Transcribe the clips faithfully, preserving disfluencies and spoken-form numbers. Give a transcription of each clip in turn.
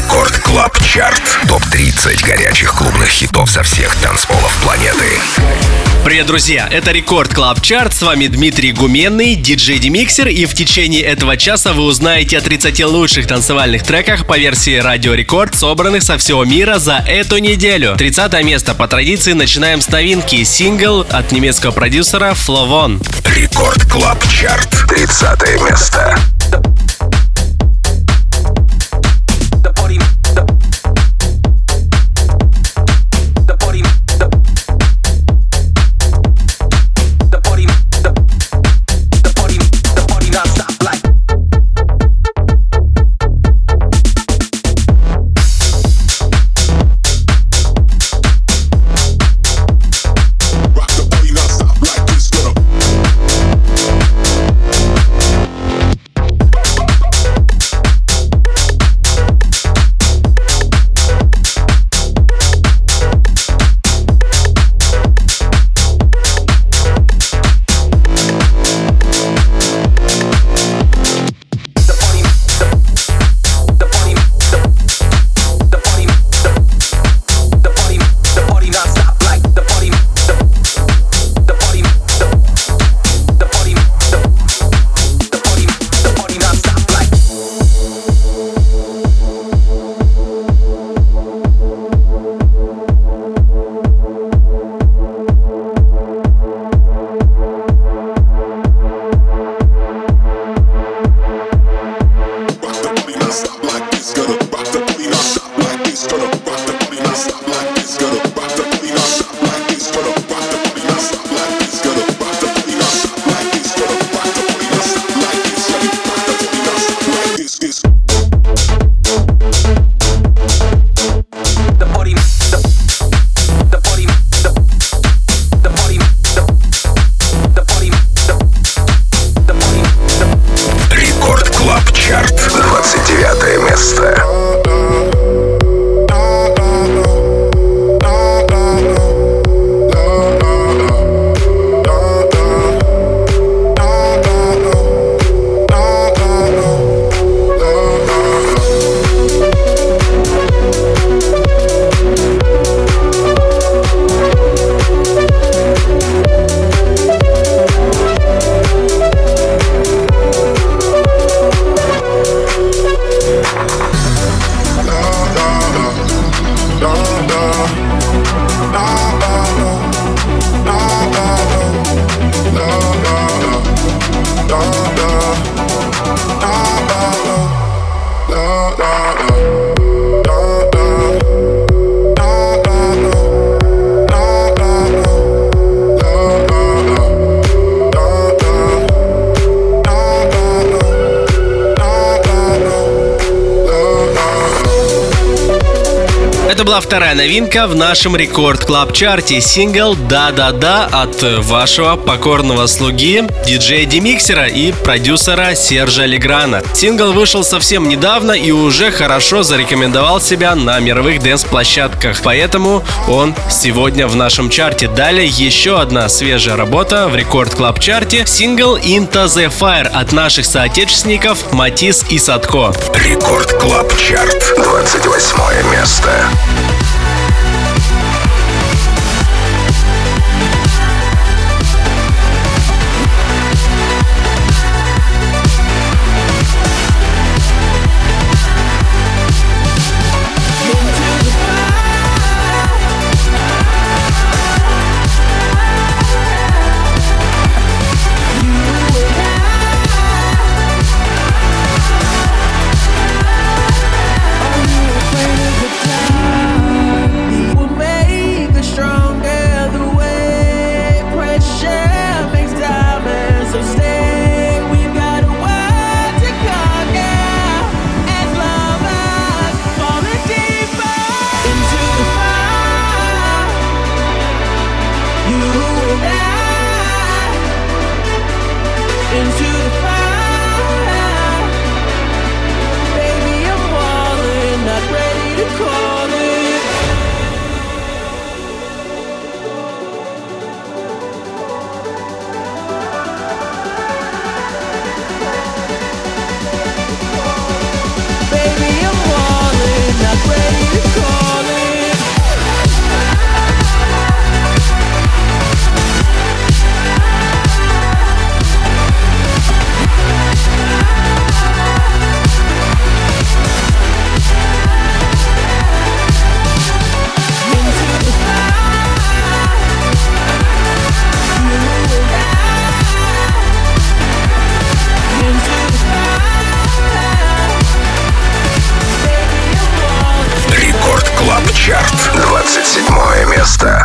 Рекорд Клаб Чарт. топ тридцать горячих клубных хитов со всех танцполов планеты. Привет, друзья! Это Рекорд Клаб Чарт. С вами Дмитрий Гуменный, диджей Демиксер. И в течение этого часа вы узнаете о тридцати лучших танцевальных треках по версии Радио Рекорд, собранных со всего мира за эту неделю. тридцатое место. По традиции начинаем с новинки. Сингл от немецкого продюсера Flovon. Рекорд Клаб Чарт. тридцатое место. Это была вторая новинка в нашем Рекорд Клаб Чарте. Сингл «Да-да-да» от вашего покорного слуги, диджея Демиксера и продюсера Сержа Леграна. Сингл вышел совсем недавно и уже хорошо зарекомендовал себя на мировых дэнс-площадках. Поэтому он сегодня в нашем чарте. Далее еще одна свежая работа в Рекорд Клаб Чарте. Сингл «Into the Fire» от наших соотечественников Матис и Садко. Рекорд Клаб Чарт. двадцать восьмое место. Чарт, двадцать седьмое место.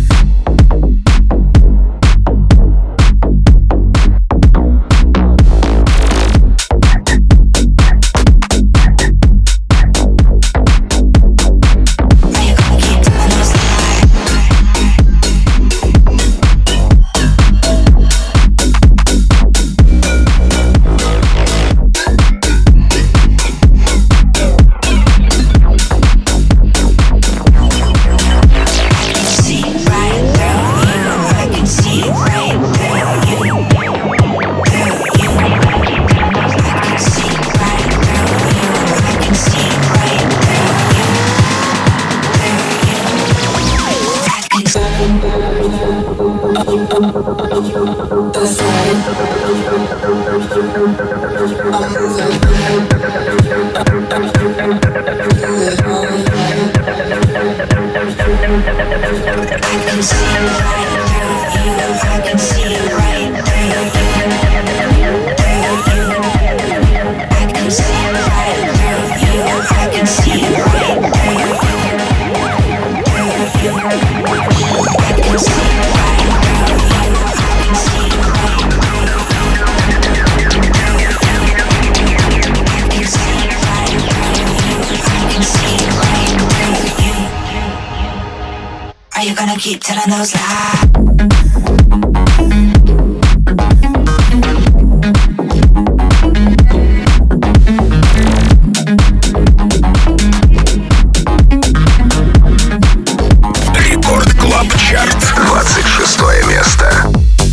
Keep telling those lies. Рекорд Клаб Чарт, двадцать шестое место.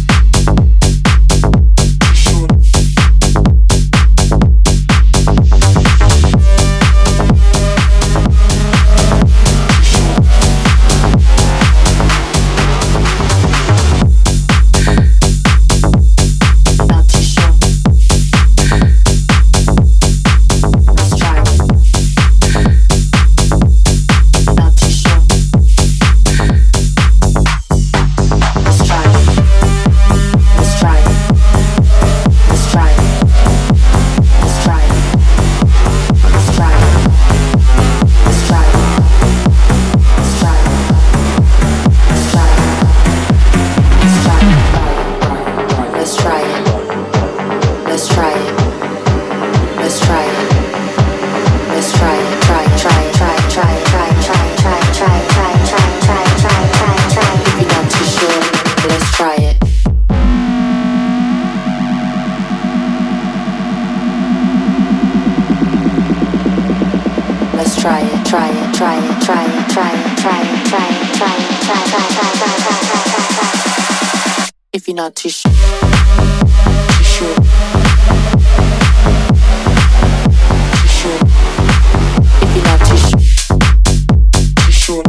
If you're not too sure, too sure, too sure. If you're not too sure, too sure.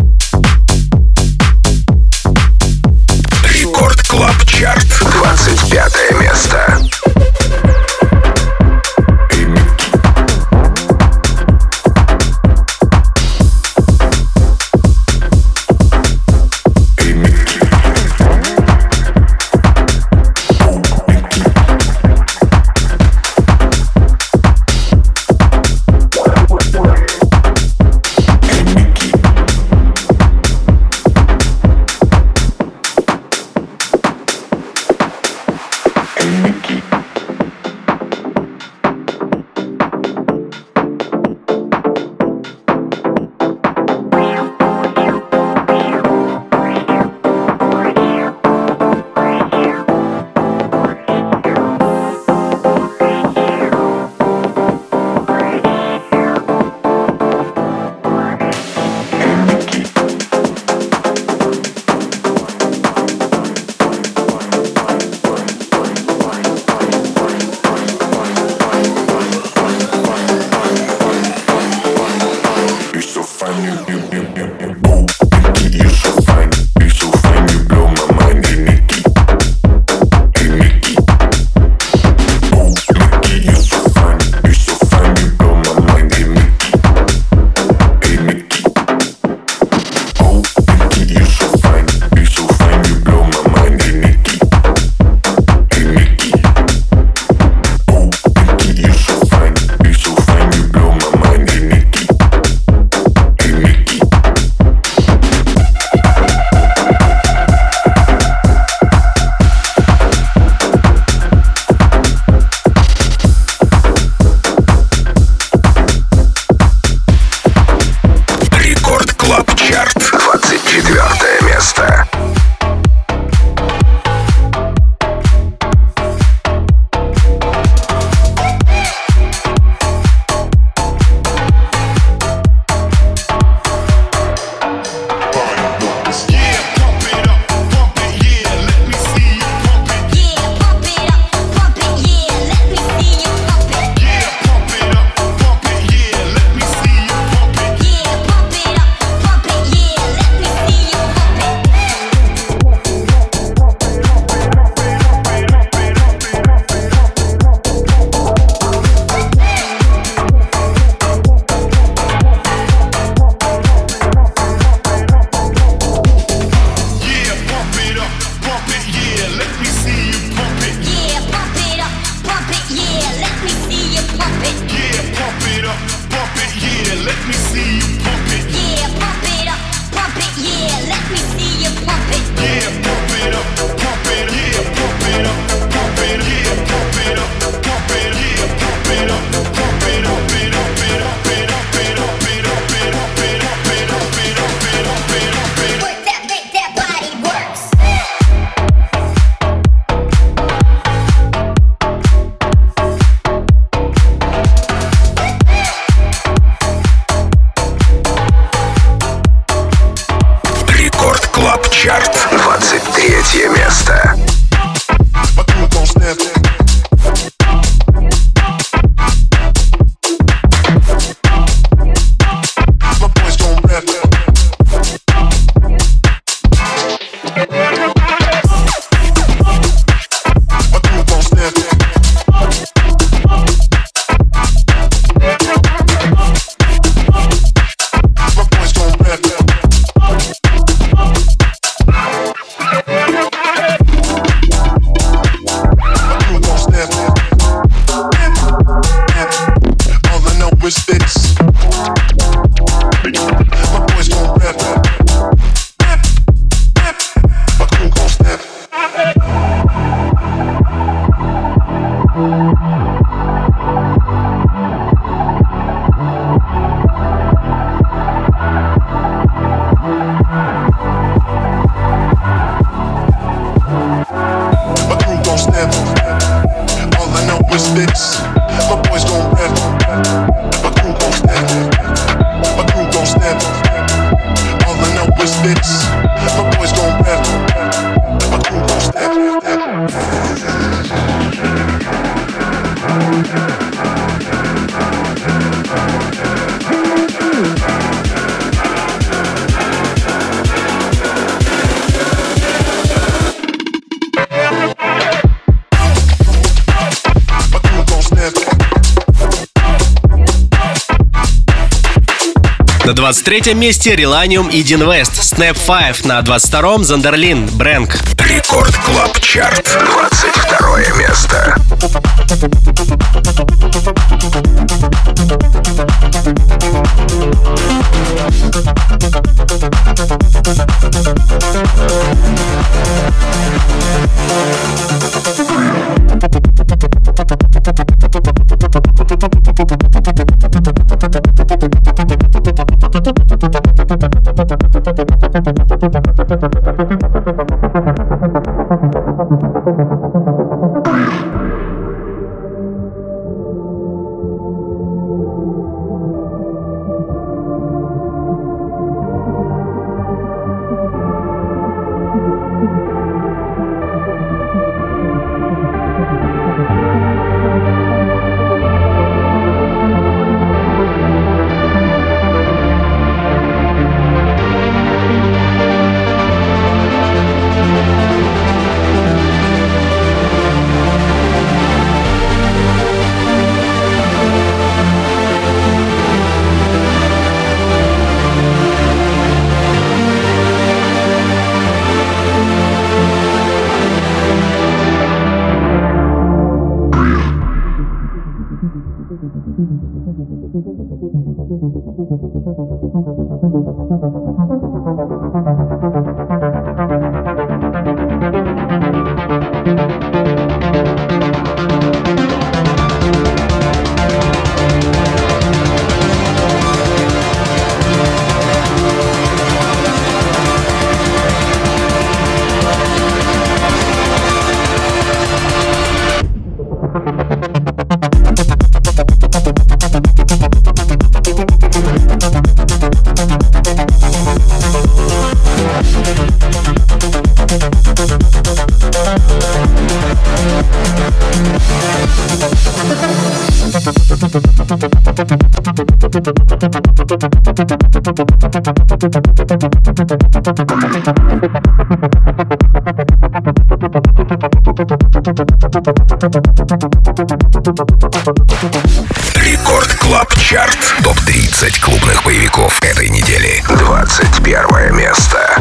Рекорд Клаб Чарт, двадцать пятое место. На двадцать третьем месте Relanium и Dean West, Snap пять. На двадцать втором Зандерлин, Брэнк. Рекорд Клаб Чарт, двадцать второе место. Рекорд Клаб Чарт. топ тридцать клубных боевиков этой недели. двадцать первое место.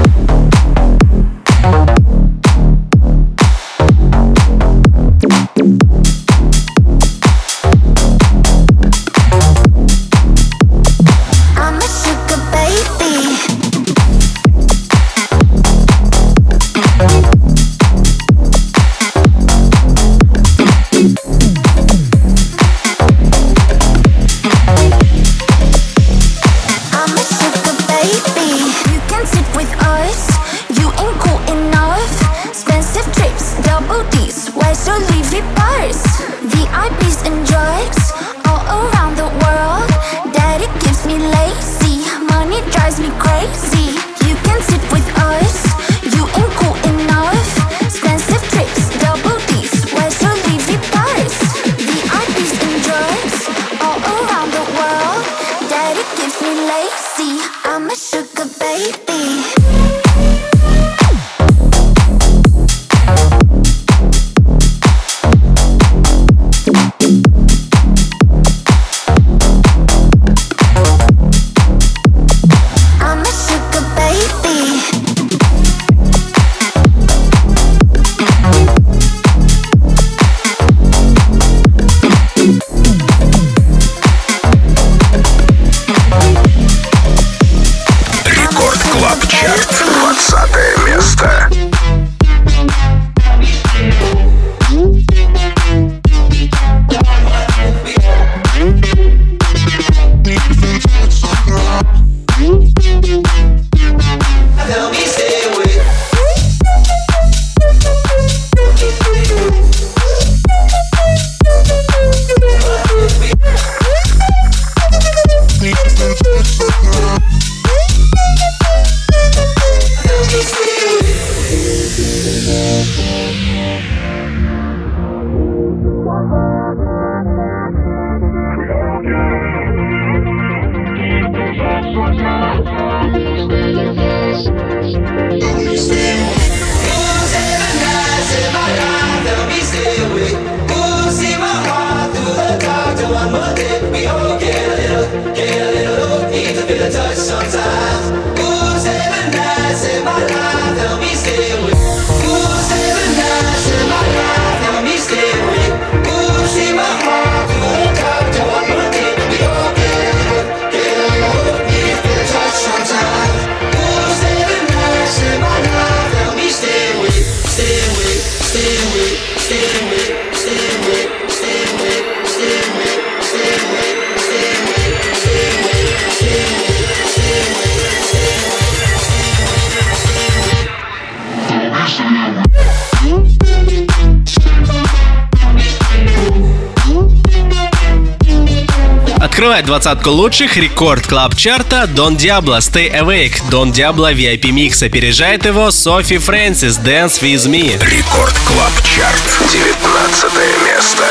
Открывает двадцатку лучших рекорд клаб чарта Don Diablo Stay Awake. Don Diablo ви ай пи микс. Опережает его Софи Фрэнсис Dance With Me. Рекорд клаб чарт. девятнадцатое место.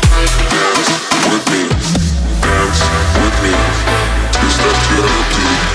With me, dance with me, twist up to the beat.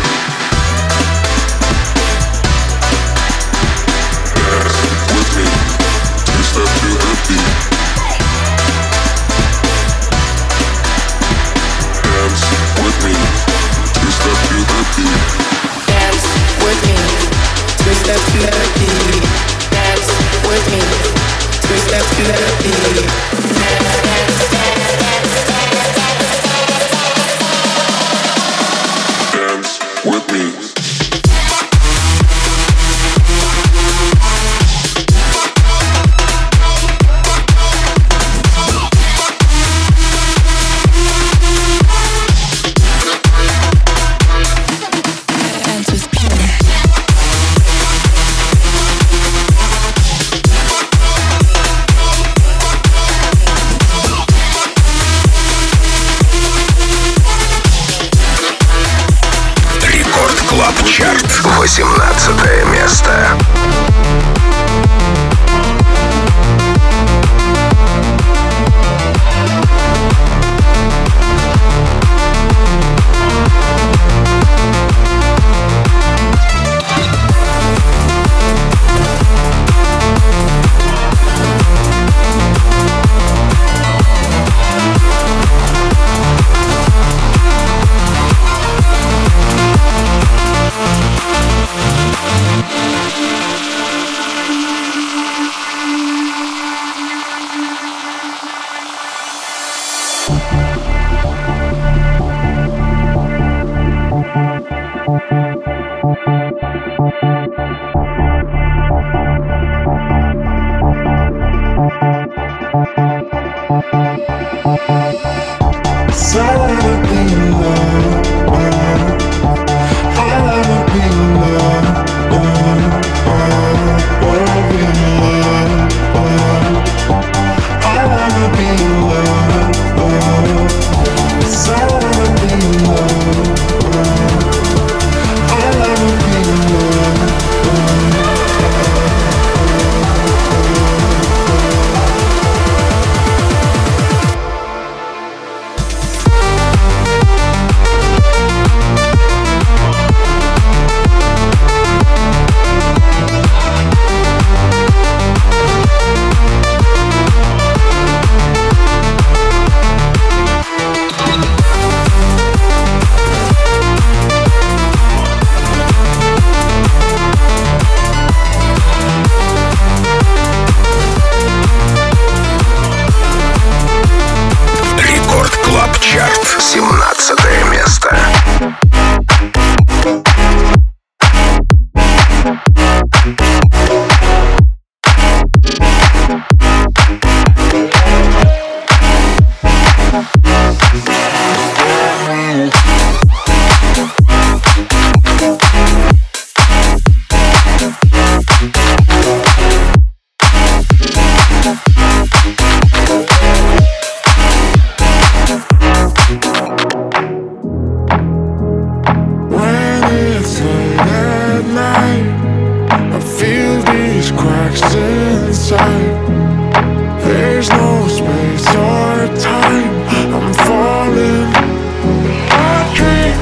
inside. There's no space or time. I'm falling. I dream.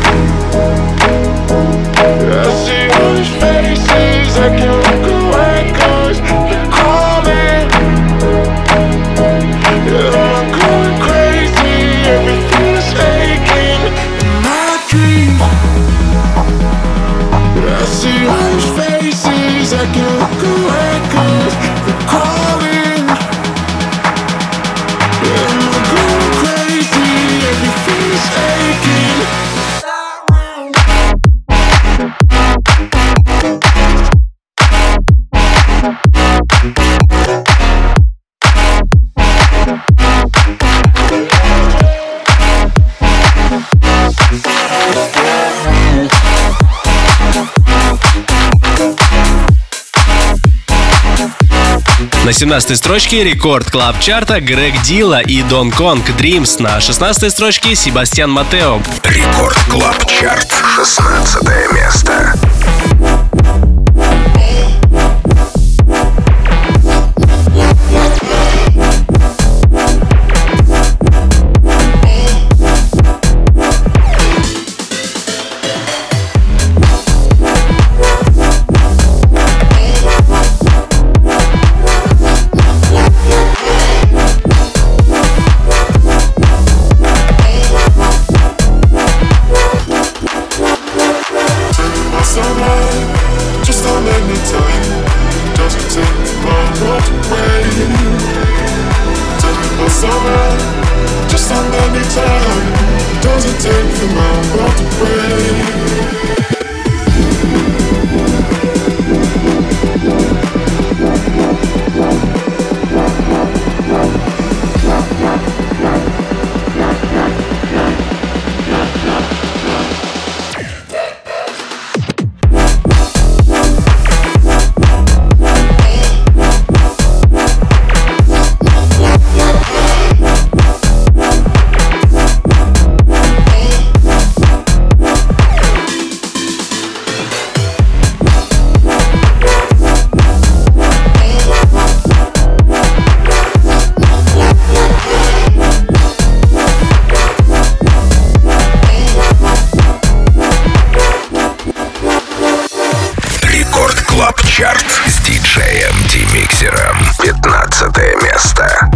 I see all these faces. I can't look away 'cause they're calling. Yeah, I'm going crazy. Everything is aching in my dreams. I see all these faces. I can't look away 'cause they're calling. Yeah, I'm going crazy. Everything is aching. На семнадцатой строчке рекорд клаб чарта Грег Дилла и Дон Конг Dreams. На шестнадцатой строчке Себастьян Матео. Рекорд клаб чарт, шестнадцатое место. Чарт с диджеем Демиксером. пятнадцатое место.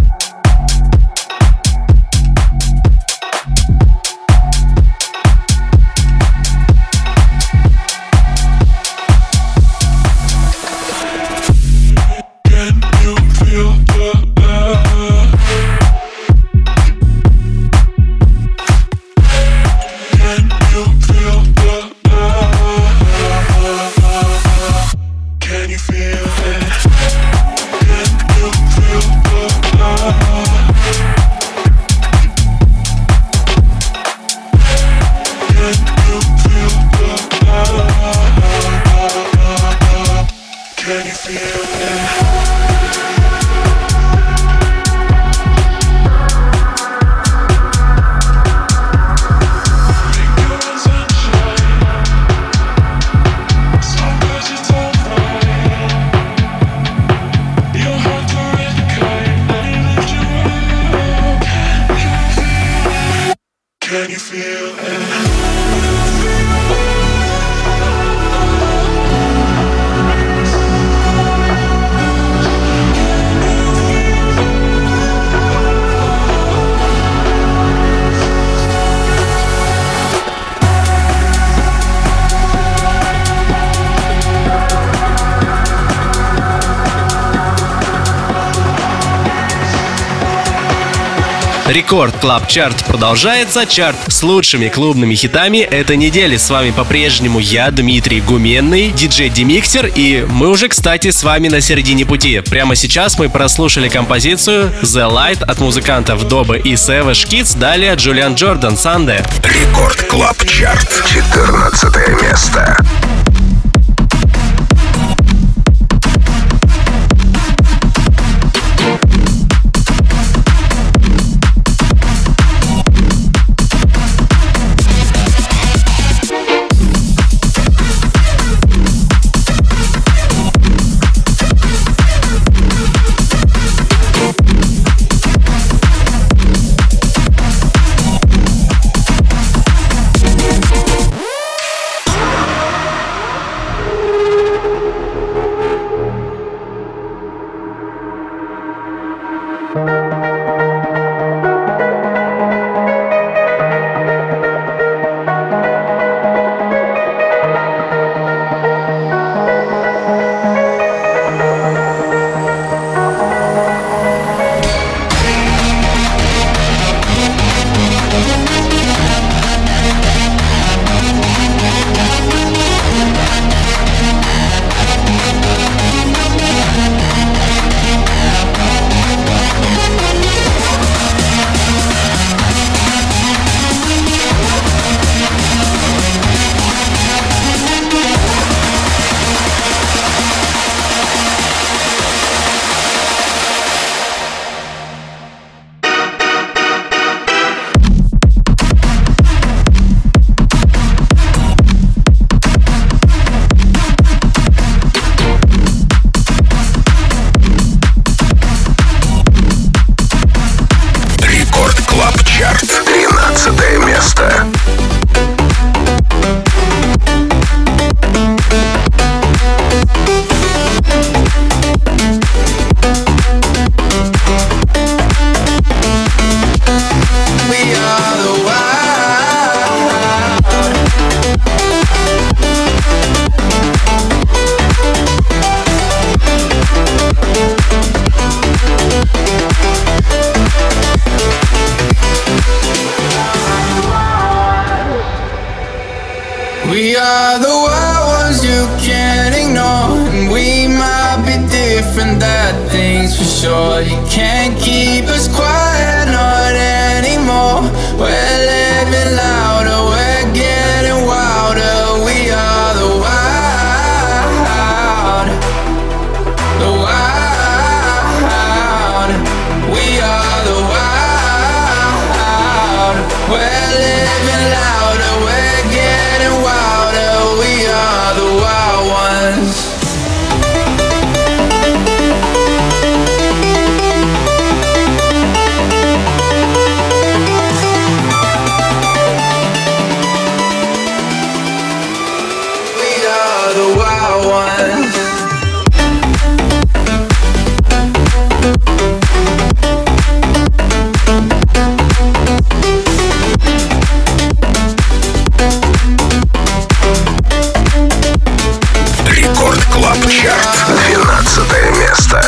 Рекорд Клаб Чарт продолжается. Чарт с лучшими клубными хитами этой недели. С вами по-прежнему я, Дмитрий Гуменный, диджей Демиксер, и мы уже, кстати, с вами на середине пути. Прямо сейчас мы прослушали композицию The Light от музыкантов Добы и Savage Kids, далее Джулиан Джордан Sunday. Рекорд Клаб Чарт, четырнадцатое место. things for sure. You can't keep us quiet, not anymore. We're living louder, we're getting wilder. We are the wild, the wild. We are the wild. We're living louder, we're getting wilder. We are the wild ones. Рекорд Клаб Чарт, двенадцатое место.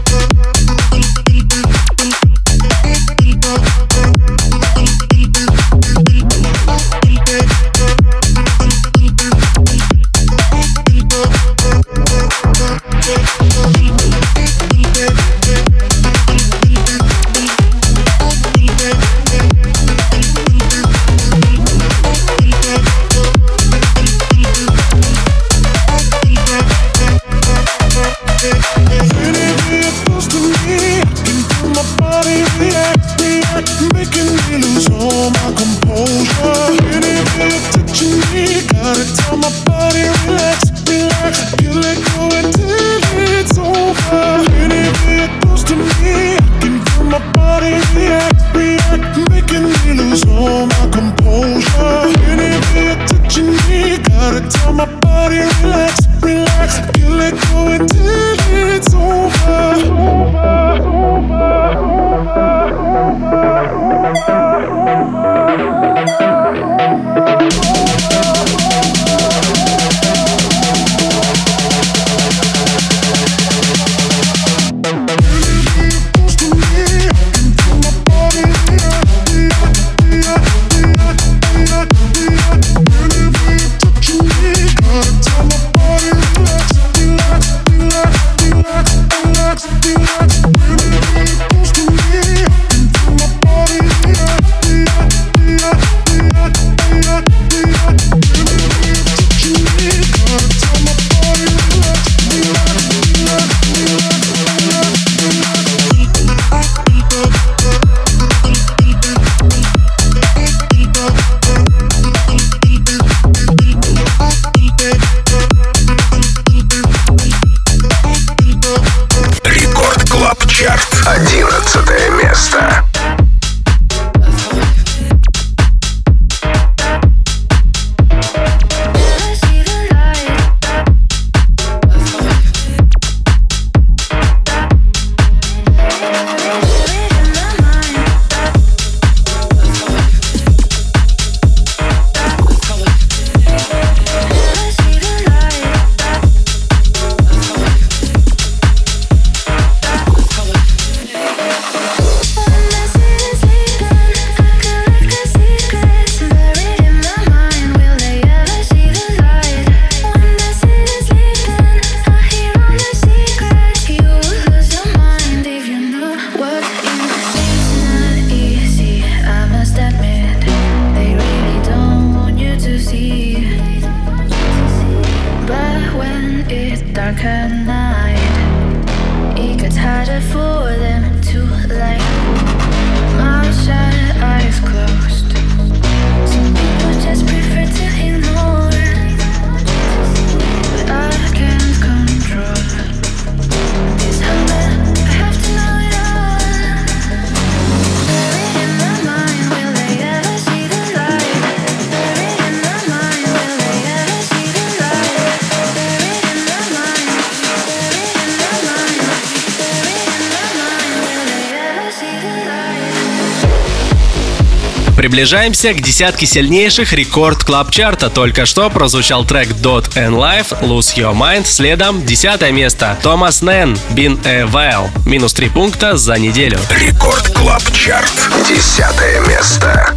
одиннадцатое место. Приближаемся к десятке сильнейших рекорд клаб чарта. Только что прозвучал трек Dot and Life, Lose Your Mind. Следом десятое место. Томас Нэн, Been a While. Минус три пункта за неделю. Рекорд Клаб Чарт. Десятое место.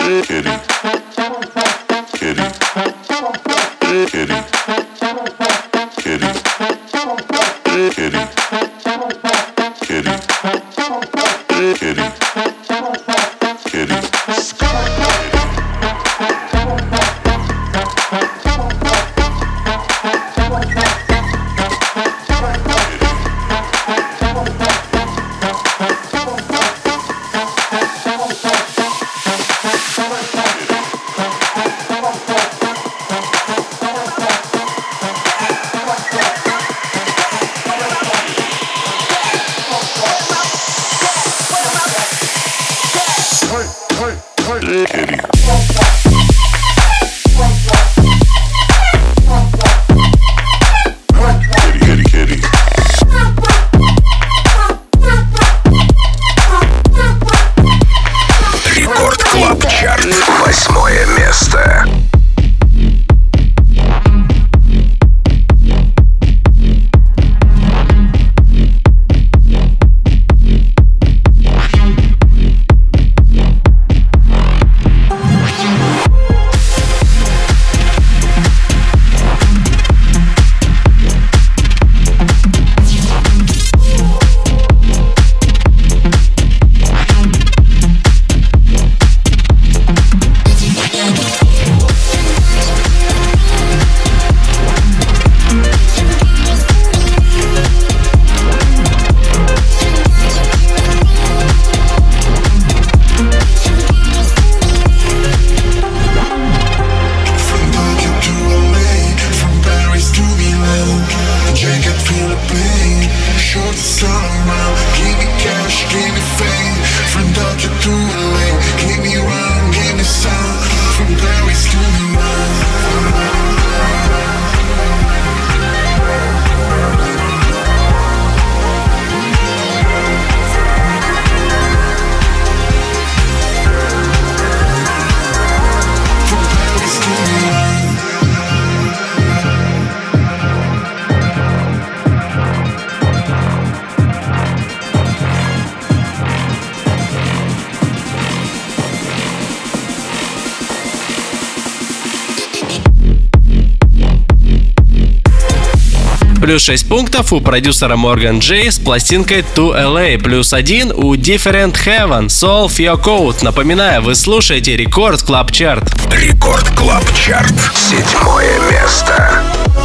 Плюс шесть пунктов у продюсера Morgan J с пластинкой To эл эй. Плюс один у Different Heaven, Solve Your Code. Напоминаю, вы слушаете Рекорд Клаб Чарт. Рекорд Клаб Чарт. Седьмое место.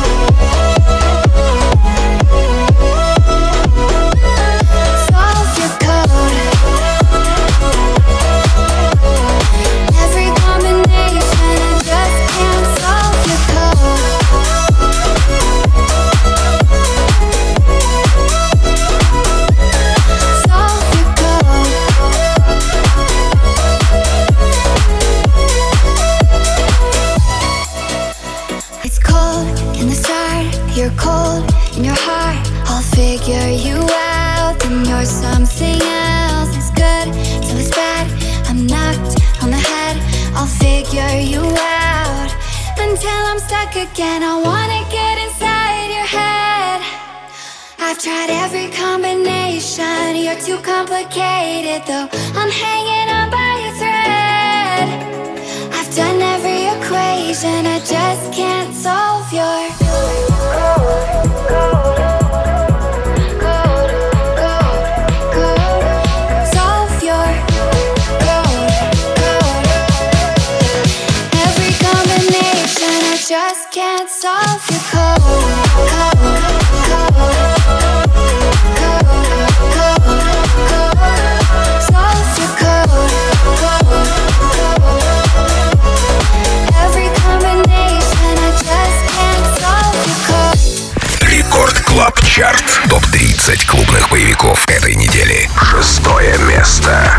Again, I wanna get inside your head. I've tried every combination. You're too complicated, though I'm hanging on by a thread. I've done every equation. I just can't solve your solve your every combination. I just can't solve your code, code, code, code, code, code. Solve your code, code, code. Every combination, I just can't solve your code. Рекорд Клаб Чарт. топ тридцать клубных боевиков этой недели. Шестое место.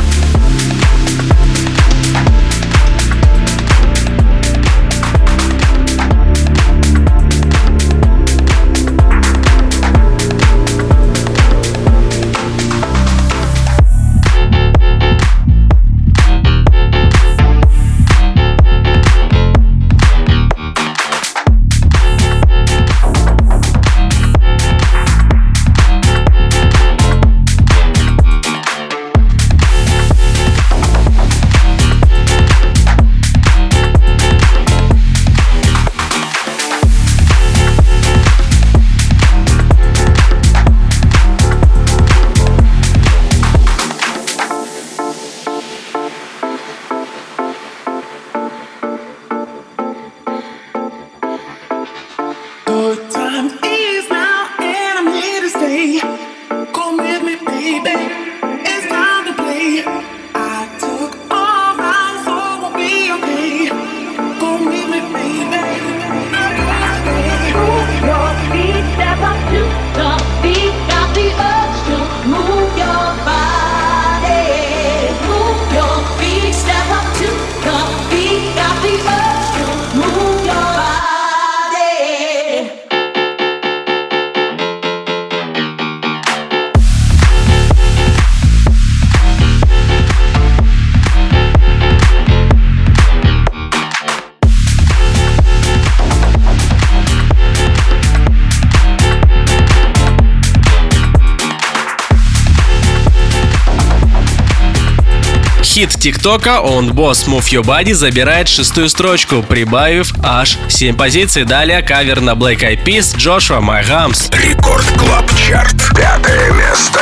Хит ТикТока «On Boss Move Your Body» забирает шестую строчку, прибавив аж семь позиций. Далее кавер на Black Eyed Peas «Joshua My Hams». Рекорд Клаб Чарт. Пятое место.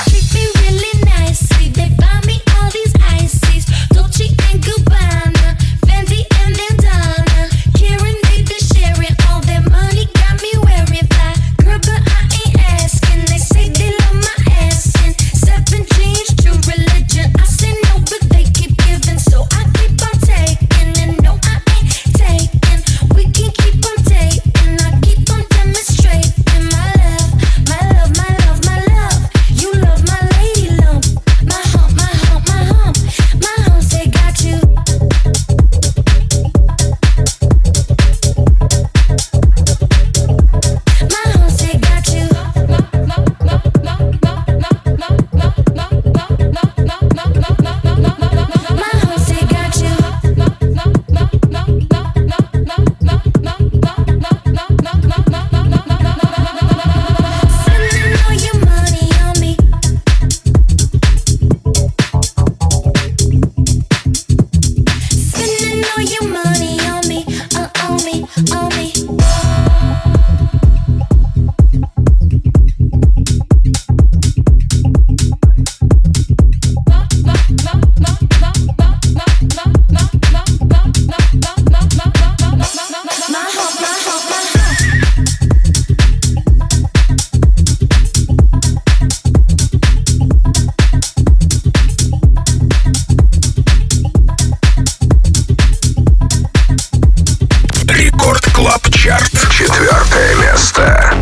Четвертое место.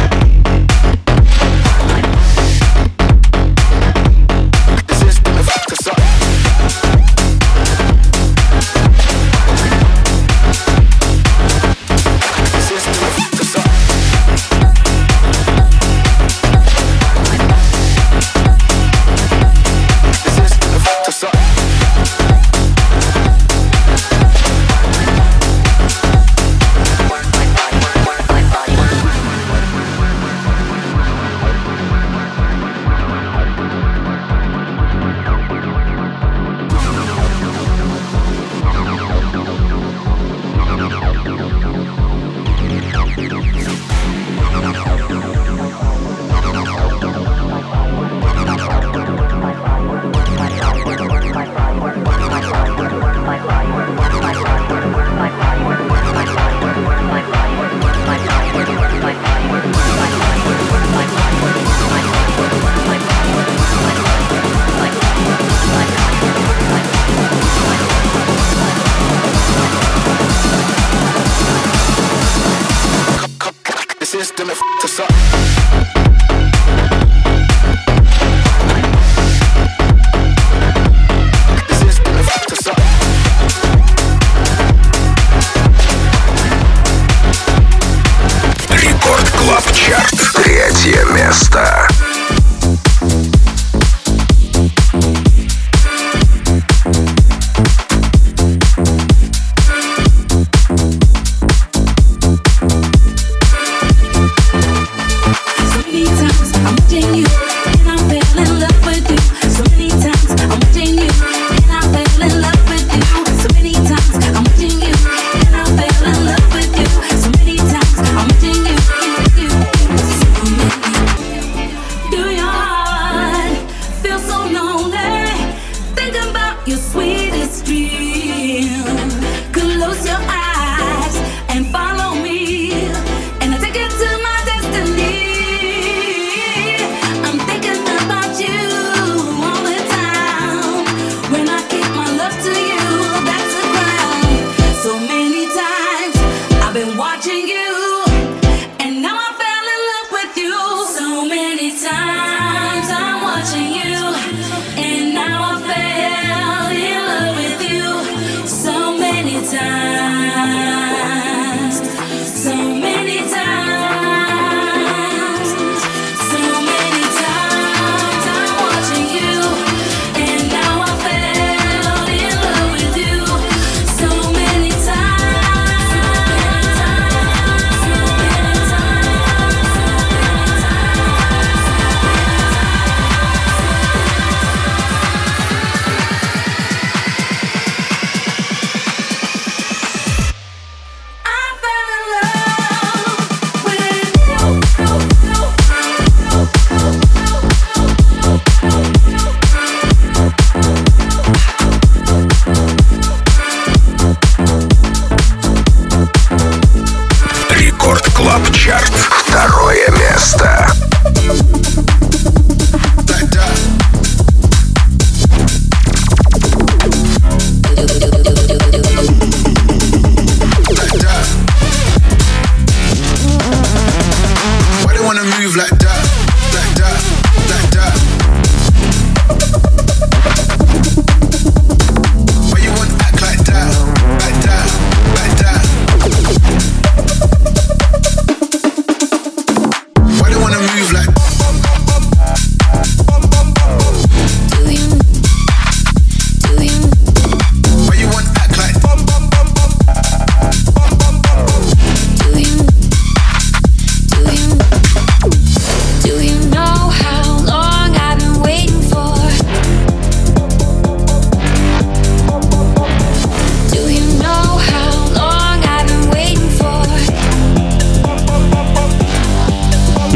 Третье место.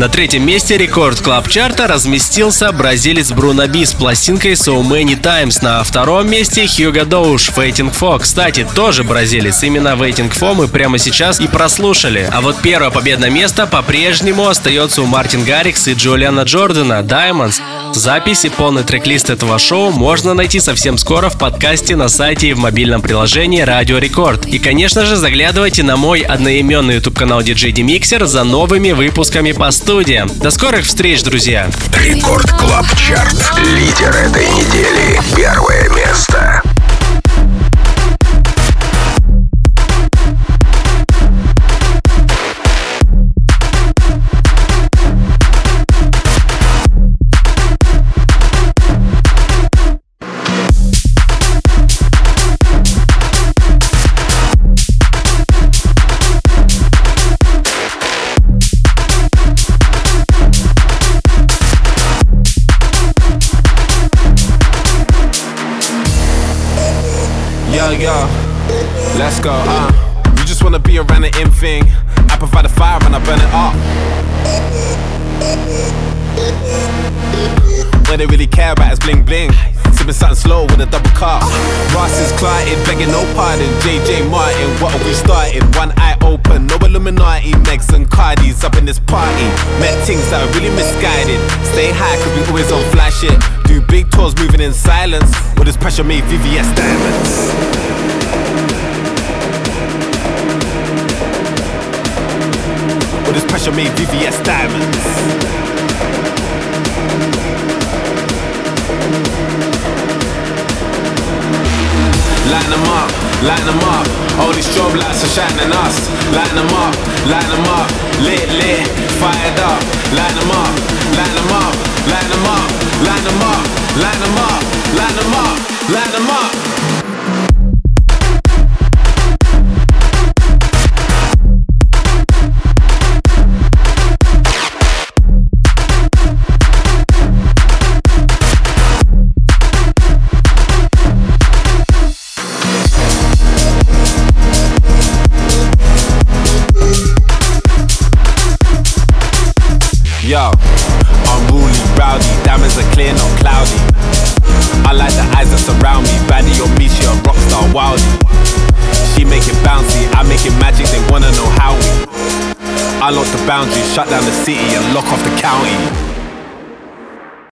На третьем месте рекорд клаб чарта разместился бразилец Бруно Би с пластинкой So Many Times. На втором месте Хьюго Доуш Waiting For. Кстати, тоже бразилец. Именно Waiting For мы прямо сейчас и прослушали. А вот первое победное место по-прежнему остается у Мартин Гаррикс и Джулиана Джордана Diamonds. Запись и полный трек-лист этого шоу можно найти совсем скоро в подкасте на сайте и в мобильном приложении Радио Рекорд. И, конечно же, заглядывайте на мой одноименный YouTube-канал ди джей Demixer за новыми выпусками по студиям. До скорых встреч, друзья! Рекорд Клаб Чарт. Лидер этой недели. Первое место. Yo, yo, let's go, uh You just wanna be around the in thing. I provide the fire and I burn it up. What they really care about is bling bling. Sipping something slow with a double cup. Ross is clotted, begging no pardon. J J Martin, what are we starting? One eye open, no Illuminati. Megs and Cardis up in this party. Met things that are really misguided. Stay high cause we always on fly shit. Do big tours moving in silence. With this pressure made V V S diamonds. With this pressure made V V S diamonds. Line them up, line them up. All these strobe lights are shining us. Line them up, line them up. Lit, lit, fired up. Line them up, line them up, line them up, line them up, line them up, line them up, line them up. Yo, unruly, rowdy, diamonds are clear, not cloudy. I like the eyes that surround me. Baddie on me, she a rockstar, wildie. She make it bouncy, I make it magic, they wanna know how we. I lock the boundaries, shut down the city and lock off the county.